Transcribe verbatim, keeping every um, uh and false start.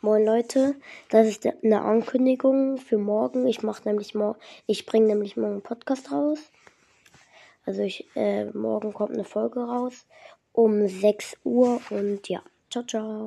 Moin Leute, das ist eine Ankündigung für morgen. Ich mache nämlich morgen, ich bringe nämlich morgen einen Podcast raus. Also ich, äh, morgen kommt eine Folge raus um sechs Uhr und ja, ciao, ciao.